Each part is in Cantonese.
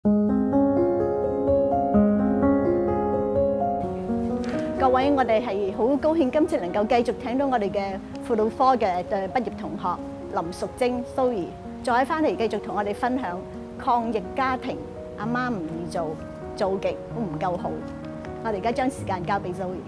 各位，我哋係好高興今次能夠繼續請到我哋嘅輔導科嘅畢業同學林淑貞 Zoe， 再翻嚟繼續同我哋分享抗疫家庭，阿媽唔易做，做極都唔夠好。我哋而家將時間交俾 Zoe。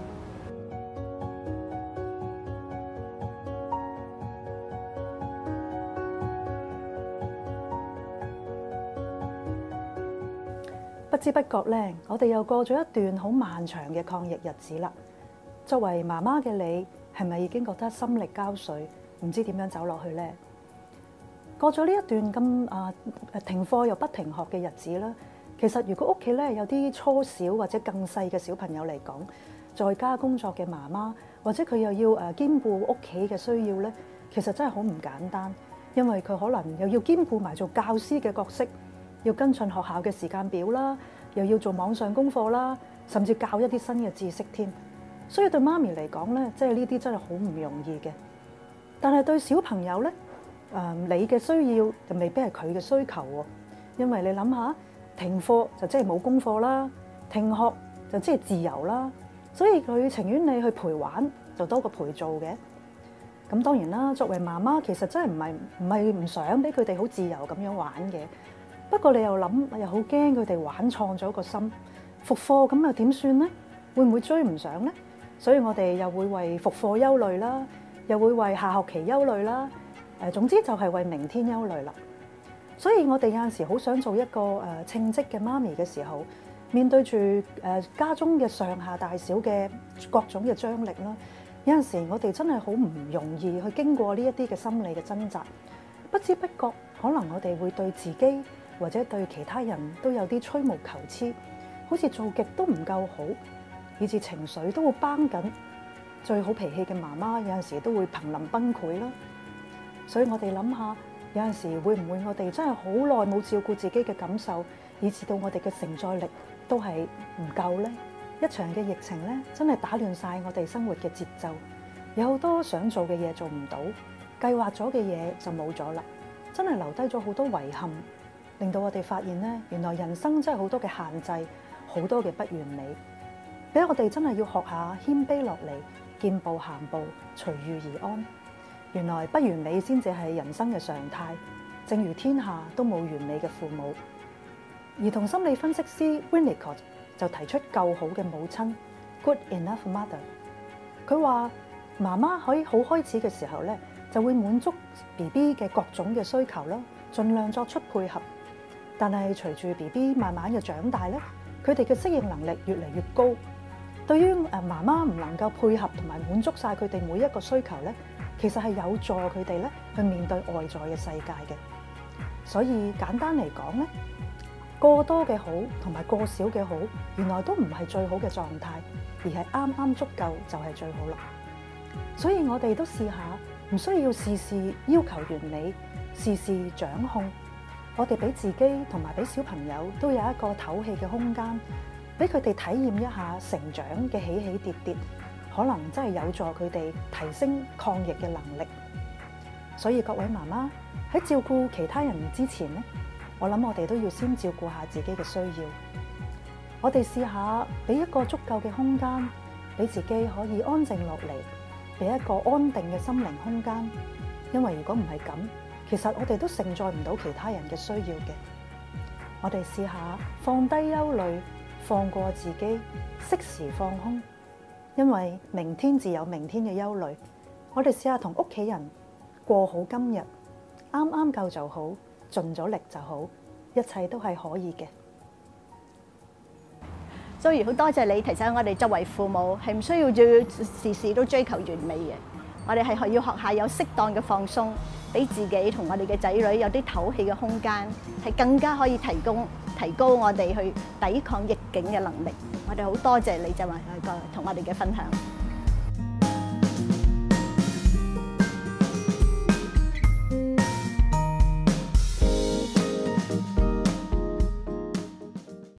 不知不覺咧，我哋又過咗一段好漫長嘅抗疫日子啦。作為媽媽嘅你，係咪已經覺得心力交瘁，唔知點樣走落去呢？過咗呢一段咁停課又不停學嘅日子啦，其實如果屋企咧有啲初小或者更細嘅小朋友嚟講，在家工作嘅媽媽或者佢又要兼顧屋企嘅需要咧，其實真係好唔簡單，因為佢可能又要兼顧埋做教師嘅角色，要跟進學校嘅時間表啦，又要做網上功課啦，甚至教一啲新嘅知識添。所以對媽咪嚟講咧，即係呢啲真係好唔容易嘅。但係對小朋友咧，你嘅需要就未必係佢嘅需求喎。因為你諗下，停課就即係冇功課啦，停學就即係自由啦。所以佢情願你去陪玩，就多過陪做嘅。咁當然啦，作為媽媽，其實真係唔係唔想俾佢哋好自由咁樣玩嘅。不過你又諗，又好驚佢哋玩錯咗個心，復課咁又點算呢？會唔會追唔上呢？所以我哋又會為復課憂慮啦，又會為下學期憂慮啦。總之就係為明天憂慮啦。所以我哋有陣時好想做一個稱職嘅媽咪嘅時候，面對住家中嘅上下大小嘅各種嘅張力啦，有陣時我哋真係好唔容易去經過呢一啲嘅心理嘅掙扎，不知不覺可能我哋會對自己或者對其他人都有啲吹毛求疵，好似做極都唔夠好，以至情緒都會繃緊。最好脾氣嘅媽媽有陣時都會瀕臨崩潰啦。所以我哋諗下，有陣時會唔會我哋真係好耐冇照顧自己嘅感受，以至到我哋嘅承載力都係唔夠呢？一場嘅疫情咧，真係打亂晒我哋生活嘅節奏，有好多想做嘅嘢做唔到，計劃咗嘅嘢就冇咗啦，真係留低咗好多遺憾。令到我哋發現咧，原來人生真係好多嘅限制，好多嘅不完美，俾我哋真係要學下謙卑落嚟，見步行步，隨遇而安。原來不完美先至係人生嘅常態，正如天下都冇完美嘅父母。兒童心理分析師 Winnicott 就提出夠好嘅母親 Good enough mother。佢話媽媽可以好開始嘅時候咧，就會滿足 BB 嘅各種嘅需求啦，盡量作出配合。但係隨住 BB 慢慢嘅長大咧，佢哋嘅適應能力越嚟越高。對於媽媽唔能夠配合同埋滿足晒佢哋每一個需求咧，其實係有助佢哋咧去面對外在嘅世界嘅。所以簡單嚟講咧，過多嘅好同埋過少嘅好，原來都唔係最好嘅狀態，而係啱啱足夠就係最好啦。所以我哋都試下，唔需要事事要求完美，事事掌控。我哋俾自己同埋俾小朋友都有一個唞氣嘅空間，俾佢哋體驗一下成長嘅起起跌跌，可能真係有助佢哋提升抗疫嘅能力。所以各位媽媽喺照顧其他人之前咧，我諗我哋都要先照顧下自己嘅需要。我哋試下俾一個足夠嘅空間，俾自己可以安靜落嚟，俾一個安定嘅心靈空間。因為如果唔係咁，其實我哋都承載唔到其他人嘅需要嘅。我哋試下放低憂慮，放過自己，適時放空。因為明天自有明天嘅憂慮。我哋試下同屋企人過好今日，啱啱夠就好，盡咗力就好，一切都係可以嘅。 所以好多謝你提醒我哋，作為父母係唔需要事事都追求完美嘅。我哋係要學下有適當嘅放鬆，俾自己同我哋嘅仔女有啲唞氣嘅空間，係更加可以提高我哋去抵抗逆境嘅能力。我哋好多謝你就話同我哋嘅分享。